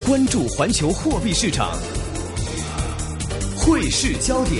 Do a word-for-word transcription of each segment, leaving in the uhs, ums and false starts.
關注環球貨幣市場，匯市焦點。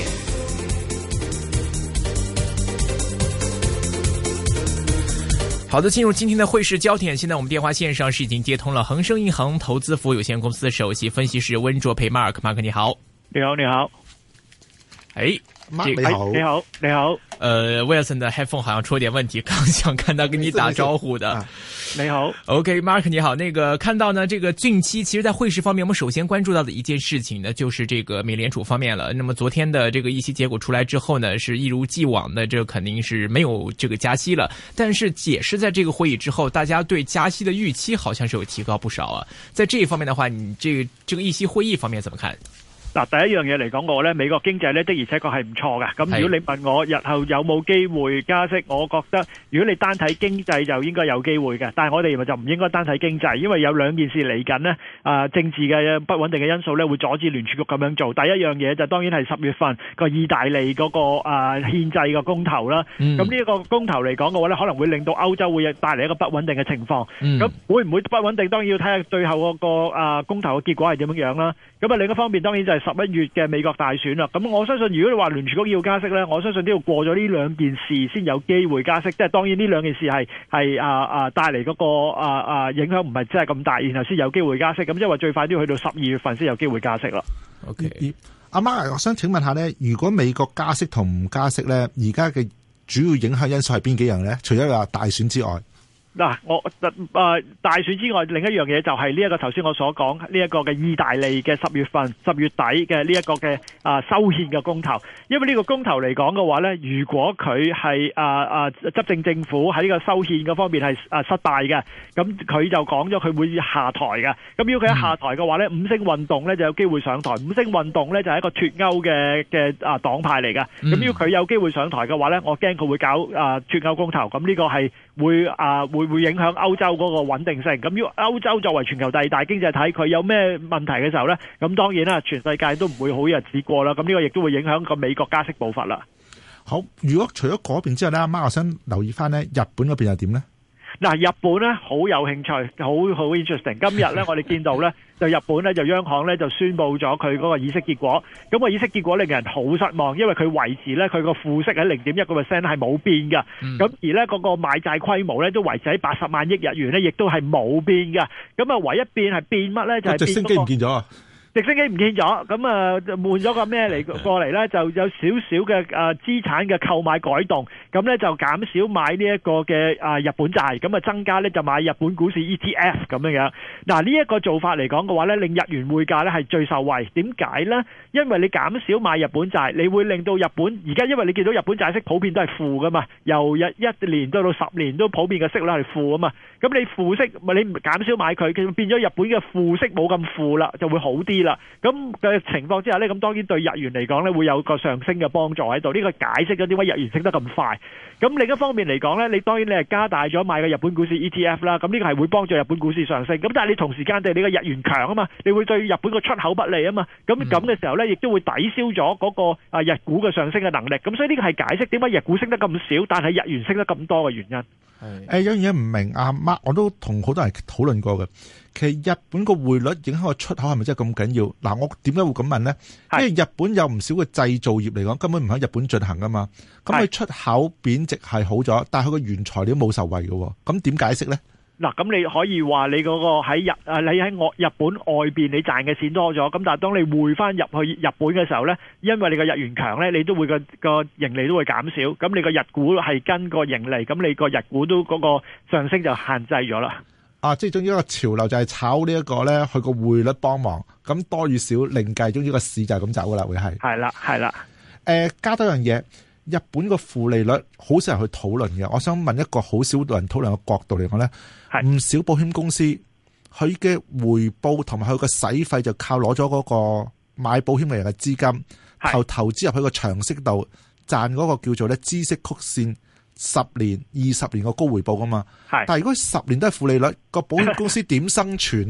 好的，進入今天的匯市焦點。現在我們電話線上是已經接通了恒生銀行投資服務有限公司首席分析師溫灼培 Mark。Mark 你好， 你好，你好。 哎 Mark 你好， 你好，你好。 呃 Wilson 的 headphone 好像出了點問題，剛想看到跟你打招呼的。 你好 ，OK，Mark 你好。那個看到呢，這個近期其實，在匯市方面，我們首先關注到的一件事情呢，就是這個美聯儲方面了。那麼昨天的這個議息結果出來之後呢，是一如既往的，這個肯定是沒有這個加息了。但是解釋在這個會議之後，大家對加息的預期好像是有提高不少啊。在這一方面的話，你這個這個議息會議方面怎麼看？ 嗱，第一樣嘢嚟講，我咧美國經濟咧的而且確係唔錯嘅。咁如果你問我日後有冇機會加息，我覺得如果你單睇經濟就應該有機會嘅。但係我哋就唔應該單睇經濟，因為有兩件事嚟緊呢，啊政治嘅不穩定嘅因素咧會阻止聯儲局咁樣做。第一樣嘢就當然係十月份個意大利嗰個啊憲制嘅公投啦。咁呢一個公投嚟講嘅話咧，可能會令到歐洲會帶嚟一個不穩定嘅情況。咁、嗯、會唔會不穩定？當然要睇下最後嗰個啊公投嘅結果係點樣樣啦。咁啊另一方面當然就係十一月嘅美國大選啦，咁我相信如果你話聯儲局要加息呢，我相信都要過咗呢兩件事先有機會加息。即係當然呢兩件事係係啊啊帶嚟嗰個啊啊影響唔係真係咁大，然後先有機會加息。咁即係話最快都要去到十二月份先有機會加息啦。 OK，阿媽，我想請問下呢，如果美國加息同唔加息呢，而家嘅主要影響因素係邊幾樣呢？除咗話大選之外。 嗱，我誒、呃、大選之外，另一樣嘢就係呢一個頭先我所講呢一個嘅意大利嘅十月份、十月底嘅呢一個嘅啊修憲嘅公投。因為呢個公投嚟講嘅話咧，如果佢係啊啊執政政府喺呢個修憲嗰方面係啊失敗嘅，咁佢就講咗佢會下台嘅。咁如果佢一下台嘅話咧，五星運動咧就有機會上台。五星運動咧就係一個脫歐嘅嘅啊黨派嚟嘅。咁如果佢有機會上台嘅話咧，我驚佢會搞啊脫歐公投。咁呢個係會啊會。會影響歐洲嗰個穩定性。咁如果歐洲作為全球第二大經濟體，佢有咩問題嘅時候呢？咁當然啦，全世界都唔會好日子過啦。咁呢個亦都會影響個美國加息步伐啦。 好，如果除咗嗰邊之後呢，阿媽我想留意翻呢，日本嗰邊又點呢？ 嗱，日本咧好有興趣，好好 interesting。今日咧，我哋見到咧，就日本咧就央行咧就宣布咗佢嗰個議息結果。咁個議息結果令人好失望，因為佢維持咧佢個負息喺零點一個 percent 係冇變㗎。咁、嗯、而咧嗰個買債規模咧都維持喺八十萬億日元咧，亦都係冇變㗎。咁啊，唯一變係變乜咧？就係、是、變、那個、直升機唔見咗啊！直升機唔見咗，咁啊換咗個咩嚟過嚟咧？就有少少嘅誒資產嘅購買改動，咁咧就減少買呢一個嘅啊日本債，咁啊增加咧就買日本股市 E T F 咁樣樣。嗱呢一個做法嚟講嘅話咧，令日元匯價咧係最受惠。點解咧？因為你減少買日本債，你會令到日本而家因為你見到日本債息普遍都係負噶嘛，由一一年到到十年都普遍嘅息率係負啊嘛。咁你負息咪你減少買佢，佢變咗日本嘅負息冇咁負啦，就會好啲。咁嘅情況之下呢，咁當然對日元嚟講呢會有個上升嘅幫助喺度。呢個解釋咗點解日元升得咁快。咁另一方面嚟講呢，你當然你係加大咗買嘅日本股市 E T F 啦。咁呢個係會幫助日本股市上升。咁但係你同時間對你個日元強啊嘛，你會對日本個出口不利啊嘛。咁咁嘅時候呢，亦都會抵消咗嗰個啊日股嘅上升嘅能力。咁所以呢個係解釋點解日股升得咁少，但係日元升得咁多嘅原因。 誒，有樣嘢唔明啊，Mark，我都同好多人討論過嘅。其實日本個匯率影響個出口係咪真係咁緊要？嗱，我點解會咁問呢？因為日本有唔少嘅製造業嚟講，根本唔喺日本進行噶嘛。咁佢出口貶值係好咗，但係佢個原材料冇受惠嘅。咁點解釋呢？ 嗱，咁你可以話你嗰個喺日啊，你喺外日本外邊你賺嘅錢多咗，咁但係當你匯翻入去日本嘅時候呢，因為你個日元強呢，你都會個個盈利都會減少，咁你個日股係跟個盈利，咁你個日股都嗰個上升就限制咗啦。 啊，即係總之一個潮流就係炒呢一個呢，佢個匯率幫忙，咁多與少另計，總之個市就係咁走噶啦，會係。係啦，係啦。誒、呃，加多樣嘢。日本個負利率好少人去討論嘅，我想問一個好少人討論嘅角度嚟講咧，唔少保險公司佢嘅回報同埋佢個使費就靠攞咗嗰個買保險嘅人嘅資金，投投資入去個長息度賺嗰個叫做咧孳息曲線十年、二十年個高回報噶嘛。但係如果十年都係負利率，個保險公司點生存咧？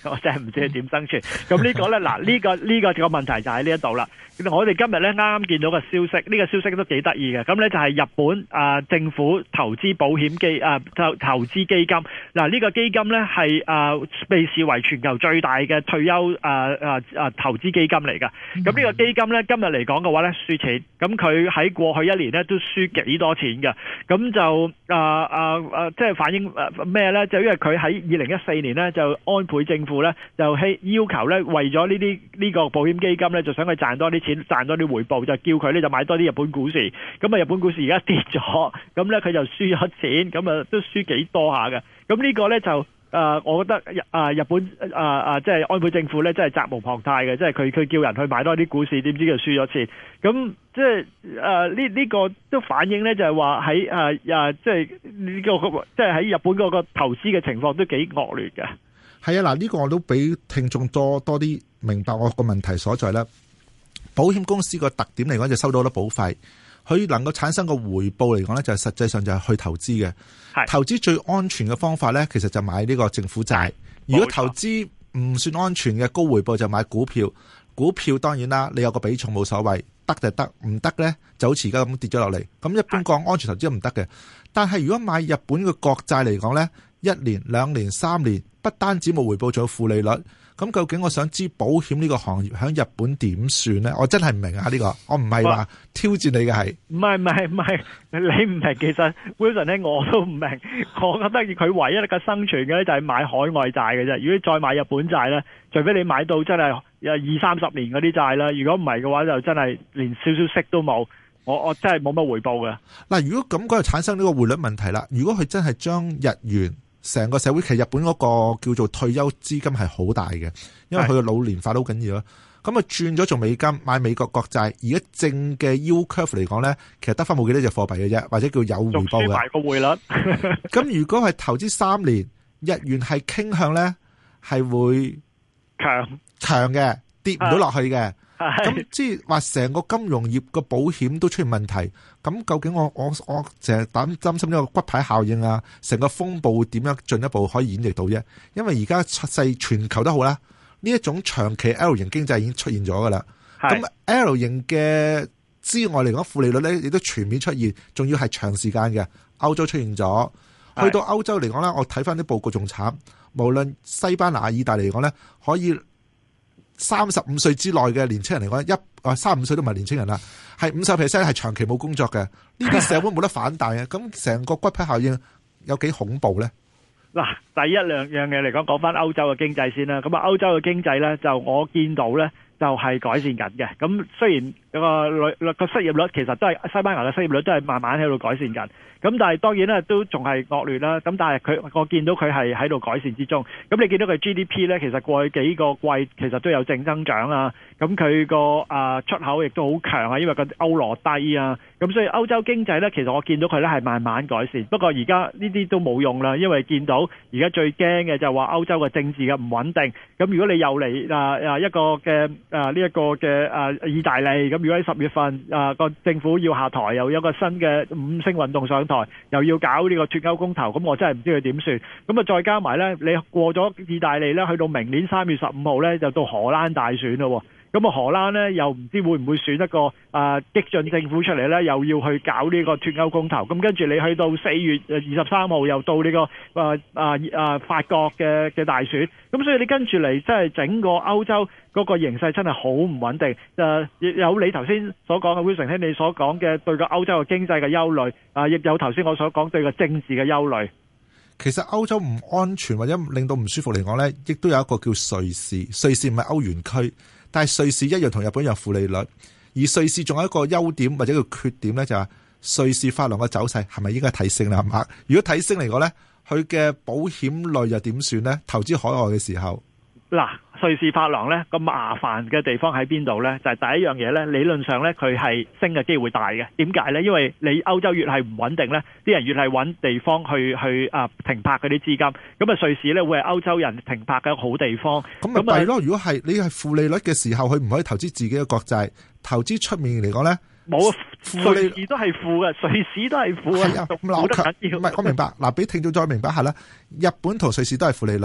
我真係唔知佢點生存。咁呢個咧，嗱呢個呢個個問題就喺呢一度啦。我哋今日咧啱啱見到個消息，呢個消息都幾得意嘅。咁咧就係日本啊政府投資保險基啊投投資基金。嗱呢個基金咧係啊被視為全球最大嘅退休啊啊啊投資基金嚟㗎。咁呢個基金咧今日嚟講嘅話咧輸錢。咁佢喺過去一年咧都輸幾多錢㗎。咁就啊啊啊即係反映咩咧？就因為佢喺二零一四年咧就安倍政府咧就希要求咧為咗呢啲呢個保險基金咧就想佢賺多啲錢賺多啲回報，就叫佢咧就買多啲日本股市。咁啊日本股市而家跌咗，咁咧佢就輸咗錢，咁啊都輸幾多下嘅。咁呢個咧就誒、呃，我覺得啊日本啊啊即係安倍政府咧真係責無旁貸嘅，即係佢佢叫人去買多啲股市，點知佢輸咗錢。咁即係誒呢呢個都反映咧就係話喺誒啊即係呢個即係喺日本嗰個投資嘅情況都幾惡劣嘅。 係啊，嗱呢個我都俾聽眾多多啲明白我個問題所在啦。保險公司個特點嚟講就收到好多保費，佢能夠產生個回報嚟講咧，就係實際上就係去投資嘅。投資最安全嘅方法咧，其實就買呢個政府債。如果投資唔算安全嘅高回報，就買股票。股票當然啦，你有個比重冇所謂，得就得，唔得咧就好似而家咁跌咗落嚟。咁一般講安全投資都唔得嘅。但係如果買日本嘅國債嚟講咧，一年、兩年、三年，不單止冇回報，仲有負利率。咁究竟我想知保險呢個行業喺日本點算呢？我真係唔明啊！呢、這個我唔係話挑戰你嘅係， 唔係唔係唔係你唔明。其實 Wilson 咧我都唔明。我覺得佢唯一嘅生存嘅咧就係買海外債嘅啫。如果你再買日本債咧，除非你買到真係二三十年嗰啲債啦，如果唔係嘅話就真係連少少息都冇。我我真係冇乜回報嘅。嗱，如果咁講就產生呢個匯率問題啦。如果佢真係將日元成個社會，其實日本嗰個叫做退休資金係好大嘅，因為佢嘅老年化都好緊要咯。咁啊轉咗做美金買美國國債，而家正嘅 yield curve 嚟講咧，其實得翻冇幾多隻貨幣嘅啫，或者叫有回報嘅。仲輸埋個匯率。咁如果係投資三年，日元係傾向咧係會強強嘅，跌唔到落去嘅。咁即係話成個金融業個保險都出現問題，咁究竟我我我淨係擔擔心呢個骨牌效應啊，成個風暴點樣進一步可以演繹到啫？因為而家出世全球都好啦，呢一種長期 L 型經濟已經出現咗噶啦。咁 L 型嘅之外嚟講，負利率咧亦都全面出現，仲要係長時間嘅。歐洲出現咗，去到歐洲嚟講咧，我睇翻啲報告仲慘，無論西班牙、意大利嚟講咧，可以。三十五歲之內嘅年青人嚟講，一啊三十五歲都唔係年青人啦，係五十 percent 係長期冇工作嘅。呢啲社會冇得反彈嘅，咁成個骨牌效應有幾恐怖咧？嗱， 第一兩樣嘢嚟講，講翻歐洲嘅經濟先啦。咁啊，歐洲嘅經濟咧，就我見到咧，就係改善緊嘅。咁雖然個率個失業率其實都係西班牙嘅失業率都係慢慢喺度改善緊。咁但係當然咧都仲係惡劣啦。咁但係佢我見到佢係喺度改善之中。咁你見到佢 G D P 咧，其實過去幾個季其實都有正增長啊。咁佢個啊出口亦都好強啊，因為個歐羅低啊。咁所以歐洲經濟咧，其實我見到佢咧係慢慢改善。不過而家呢啲都冇用啦，因為見到而家最驚嘅就係話歐洲嘅政治嘅唔穩定。咁如果你又嚟啊啊一個嘅啊呢一個嘅啊意大利，咁如果喺十月份啊個政府要下台，又有一個新嘅五星運動上台，又要搞呢個脫歐公投，咁我真係唔知佢點算。咁啊再加埋咧，你過咗意大利咧，去到明年三月十五號咧，就到荷蘭大選咯。咁啊荷蘭咧又唔知會唔會選一個啊激進政府出嚟咧，又要去搞呢個脫歐公投。咁跟住你去到四月二十三號又到呢個啊啊啊法國嘅嘅大選。咁所以你跟住嚟，即係整個歐洲嗰個形勢真係好唔穩定。誒，亦有你頭先所講嘅 Wilson 兄你所講嘅對個歐洲嘅經濟嘅憂慮，啊，亦有頭先我所講對個政治嘅憂慮。 其實歐洲唔安全或者令到唔舒服嚟講咧，亦都有一個叫瑞士。瑞士唔係歐元區，但係瑞士一樣同日本有負利率。而瑞士仲有一個優點或者個缺點咧，就係瑞士法郎嘅走勢係咪應該提升啦？係嘛？如果提升嚟講咧，佢嘅保險類又點算咧？投資海外嘅時候。 嗱，瑞士法郎咧個麻煩嘅地方喺邊度咧？就係、是、第一樣嘢咧，理論上咧佢係升嘅機會大嘅。點解咧？因為你歐洲越係唔穩定咧，啲人越係揾地方去去啊停泊嗰啲資金。咁啊，瑞士咧會係歐洲人停泊嘅好地方。 咁咪係咯？如果係你係負利率嘅時候，佢唔可以投資自己嘅國債，投資出面嚟講咧， 冇瑞士都係負嘅，瑞士都係負嘅，冇得緊要。唔係，我明白。嗱，俾聽眾再明白下啦。日本同瑞士都係負利率。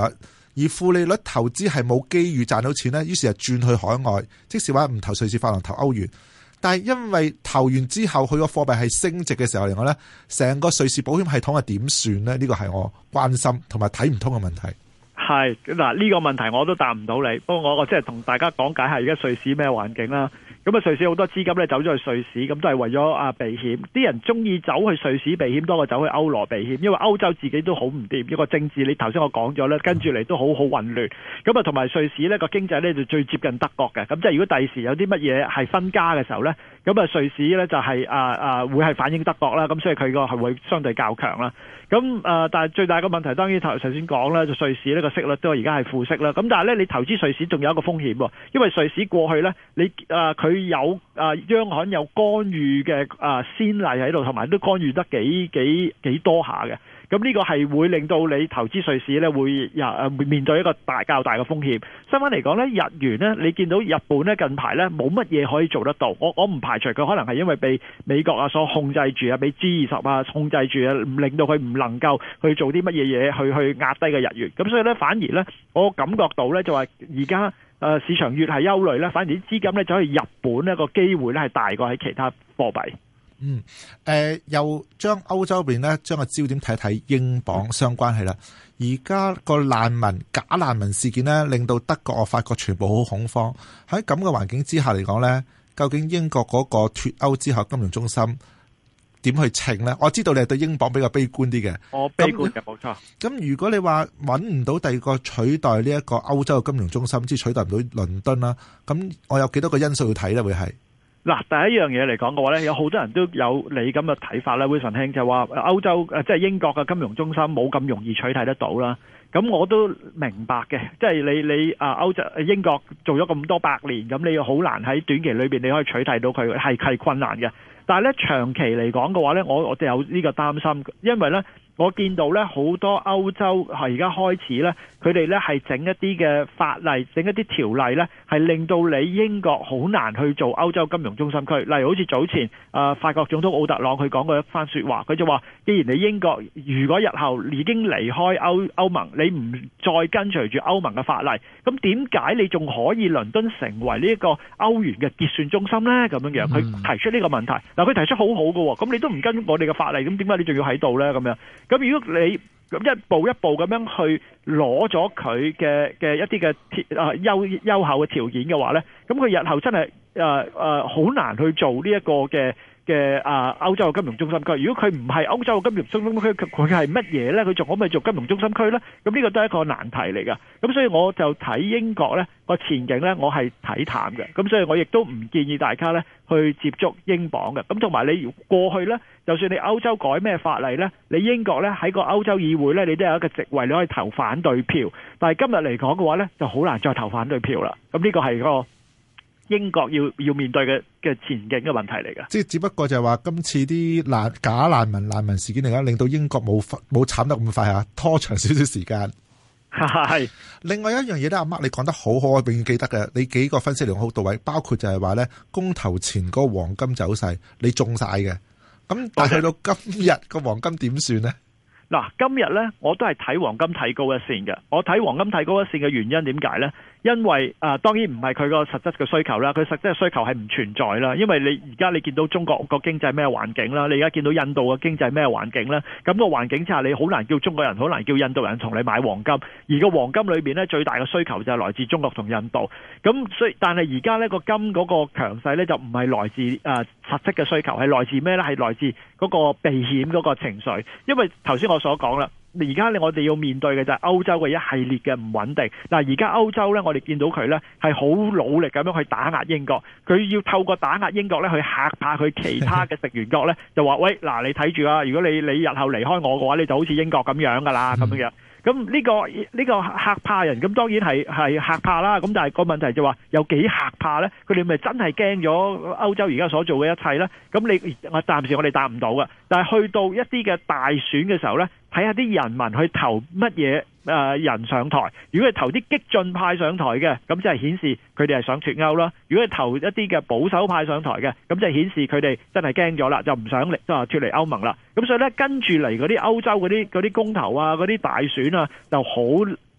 而負利率投資係冇機遇賺到錢呢，於是就轉去海外，即使話唔投瑞士法郎投歐元。但係因為投完之後佢個貨幣係升值嘅時候嚟講呢，成個瑞士保險系統係點算呢？呢個係我關心同埋睇唔通嘅問題。 係嗱，呢個問題我都答唔到你，不過我我即係同大家講解下而家瑞士咩環境啦。咁啊，瑞士好多資金咧走咗去瑞士，咁都係為咗啊避險。啲人中意走去瑞士避險多過走去歐羅避險，因為歐洲自己都好唔掂，一個政治你頭先我講咗咧，跟住嚟都好好混亂。咁啊，同埋瑞士呢個經濟咧就最接近德國嘅，咁即係如果第時有啲乜嘢係分家嘅時候咧，咁啊瑞士咧就係啊啊會係反映德國啦，咁所以佢個係會相對較強啦。咁啊、呃，但係最大嘅問題當然頭先講啦，就瑞士呢個息率都而家係負息啦。咁但係咧，你投資瑞士仲有一個風險喎，因為瑞士過去咧，你啊佢、呃、有啊、呃、央行有干預嘅啊、呃、先例喺度，同埋都干預得幾幾幾多下嘅。咁呢個係會令到你投資瑞士咧會啊會面對一個大較大嘅風險。相反嚟講咧，日元咧，你見到日本咧近排咧冇乜嘢可以做得到。我我唔排除佢可能係因為被美國啊所控制住啊，被 G 二十啊控制住啊，令到佢唔能夠去做啲乜嘢嘢去去壓低嘅日元。咁所以咧，反而咧，我感覺到咧就話而家誒市場越係憂慮咧，反而啲資金咧走去日本呢個機會咧係大過喺其他貨幣。 嗯，誒、呃，又將歐洲邊咧，將個焦點睇睇英鎊相關係啦。而家個難民假難民事件咧，令到德國、我法國全部好恐慌。喺咁嘅環境之下嚟講咧，究竟英國嗰個脫歐之後金融中心點去稱咧？我知道你係對英鎊比較悲觀啲嘅， 我悲觀嘅冇錯。 咁如果你話揾唔到第二個取代呢一個歐洲嘅金融中心，即係取代唔到倫敦啦，咁我有幾多個因素要睇咧？會係？ 嗱，第一樣嘢嚟講嘅話咧，有好多人都有你咁嘅睇法咧。Wilson兄就話歐洲誒，即係英國嘅金融中心冇咁容易取替得到啦。咁我都明白嘅，即係你你啊歐洲英國做咗咁多百年，咁你好難喺短期裏邊你可以取替到佢，係係困難嘅。但係咧長期嚟講嘅話咧，我我哋有呢個擔心，因為咧我見到咧好多歐洲係而家開始咧，佢哋咧係整一啲嘅法例，整一啲條例咧，係令到你英國好難去做歐洲金融中心區。例如好似早前啊、呃、法國總統奧特朗佢講過一番説話，佢就話：既然你英國如果日後已經離開歐歐盟，你唔再跟隨住歐盟嘅法例，咁點解你仲可以倫敦成為呢一個歐元嘅結算中心呢？咁樣樣佢提出呢個問題。嗱，佢提出好好嘅，咁你都唔跟我哋嘅法例，咁點解你仲要喺度呢？咁樣咁如果你咁一步一步咁樣去攞咗佢嘅嘅一啲嘅啊優優厚嘅條件嘅話呢，咁佢日後真係誒誒好難去做呢一個嘅嘅啊歐洲嘅金融中心區。如果佢唔係歐洲嘅金融中心區，佢係乜嘢呢？佢仲可唔可以做金融中心區呢？咁呢個都係一個難題嚟㗎。咁所以我就睇英國呢個前景呢，我係睇淡嘅。咁所以我亦都唔建議大家呢去接觸英鎊嘅。咁同埋你過去呢，就算你歐洲改咩法例呢，你英國呢喺個歐洲議會呢，你都有一個席位你可以投反對票。但係今日嚟講嘅話呢，就好難再投反對票啦。咁呢個係個英國要要面對嘅嘅前景嘅問題嚟㗎。即係只不過就係話今次啲難假難民難民事件嚟講，令到英國冇冇慘得咁快嚇，拖長少少時間。係。另外一樣嘢咧，阿 Mark 你講得好好，我永遠記得嘅。你幾個分析嚟講好到位，包括就係話咧，公投前嗰個黃金走勢，你中晒嘅。咁但係去到今日個黃金點算呢？ 嗱，今日咧我都係睇黃金睇高一線嘅。我睇黃金睇高一線嘅原因點解咧？因為啊、呃，當然唔係佢個實質嘅需求啦，佢實質嘅需求係唔存在啦。因為你而家你見到中國個經濟咩環境啦，你而家見到印度嘅經濟咩環境啦，咁個環境之下，你好難叫中國人，好難叫印度人同你買黃金。而個黃金裏邊咧，最大嘅需求就係來自中國同印度。咁所以，但係而家呢個金嗰個強勢咧，就唔係來自啊、呃、實質嘅需求，係來自咩咧？係來自嗰個避險嗰個情緒。因為頭先我所講啦。而家我哋要面對嘅就係歐洲嘅一系列嘅唔穩定。嗱，而家歐洲咧，我哋見到佢咧係好努力咁樣去打壓英國，佢要透過打壓英國咧去嚇怕佢其他嘅成員國咧，就話喂，嗱，你睇住啊，如果你你日後離開我嘅話，你就好似英國咁樣噶啦，咁樣樣。咁呢個呢個嚇怕人，咁當然係係嚇怕啦。咁但係個問題就話有幾嚇怕咧？佢哋咪真係驚咗歐洲而家所做嘅一切咧？咁你我暫時我哋答唔到㗎。但係去到一啲嘅大選嘅時候咧，睇下啲人民去投乜嘢誒人上台。如果係投啲激進派上台嘅，咁即係顯示佢哋係想脫歐啦。如果係投一啲嘅保守派上台嘅，咁即係顯示佢哋真係驚咗啦，就唔想嚟即係脫離歐盟啦。咁所以咧，跟住嚟嗰啲歐洲嗰啲嗰啲公投啊，嗰啲大選啊，就好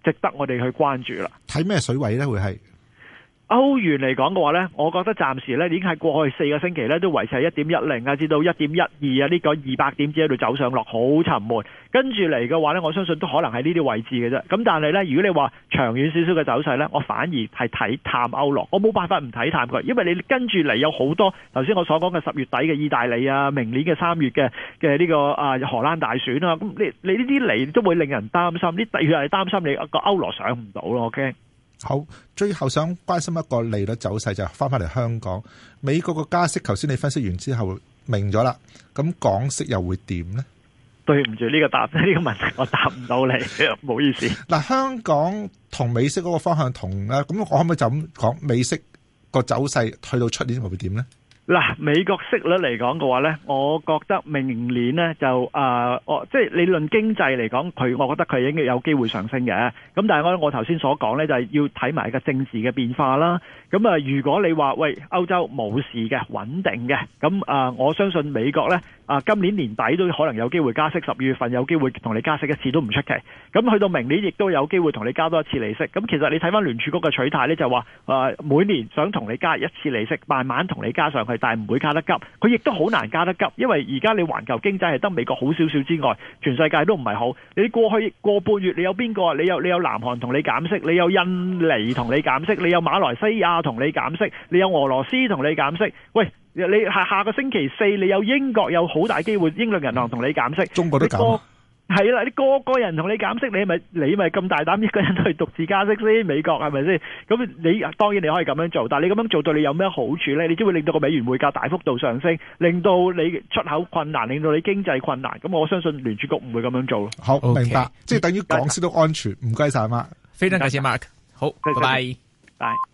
值得我哋去關注啦。 睇咩水位咧？會係？ 歐元嚟講嘅話呢，我覺得暫時呢已經喺過去四個星期呢都維持喺一點一零啊，至到一點一二啊，呢個二百點之喺度走上落，好沉悶。跟住嚟嘅話呢，我相信都可能係呢啲位置嘅啫。咁但係呢，如果你話長遠少少嘅走勢呢，我反而係睇淡歐羅，我冇辦法唔睇淡佢，因為你跟住嚟有好多頭先我所講嘅十月底嘅意大利啊，明年嘅三月嘅嘅呢個啊荷蘭大選啊，咁你你呢啲嚟都會令人擔心，呢第二係擔心你個歐羅上唔到咯。OK。 好，最後想關心一個利率走勢，就翻返嚟香港，美國個加息，頭先你分析完之後明咗啦，咁港息又會點呢？ 對唔住，呢個答呢個問題我答唔到你，唔好意思。 嗱，香港同美息嗰個方向同啦，咁我可唔可以就咁講美息個走勢去到出年會點呢？ 嗱，美國息率嚟講嘅話呢，我覺得明年呢就啊，我、呃、即係理論經濟嚟講，佢我覺得佢應該有機會上升嘅。咁但係我我頭先所講呢，就係要睇埋個政治嘅變化啦。咁啊，如果你話喂歐洲冇事嘅穩定嘅，咁啊，我相信美國呢啊，今年年底都可能有機會加息，十二月份有機會同你加息一次都唔出奇。咁去到明年亦都有機會同你加多一次利息。咁其實你睇翻聯儲局嘅取態呢，就話啊，每年想同你加一次利息，慢慢同你加上去。但係唔會加得急，佢亦都好難加得急，因為而家你環球經濟係得美國好少少之外，全世界都唔係好。你過去個半月你有邊個？你有你有南韓同你減息，你有印尼同你減息，你有馬來西亞同你減息，你有俄羅斯同你減息。喂，你下下個星期四你有英國有好大機會，英倫銀行同你減息， 中國都減。 係啦，你個個人同你減息，你咪你咪咁大膽一個人去獨自加息先？美國係咪先？咁你當然你可以咁樣做，但係你咁樣做對你有咩好處呢？你只會令到個美元匯價大幅度上升，令到你出口困難，令到你經濟困難。咁我相信聯儲局唔會咁樣做咯。好， 明白，即係等於港息都安全。唔該晒，Mark， 非常感謝 Mark。好，拜拜。 拜。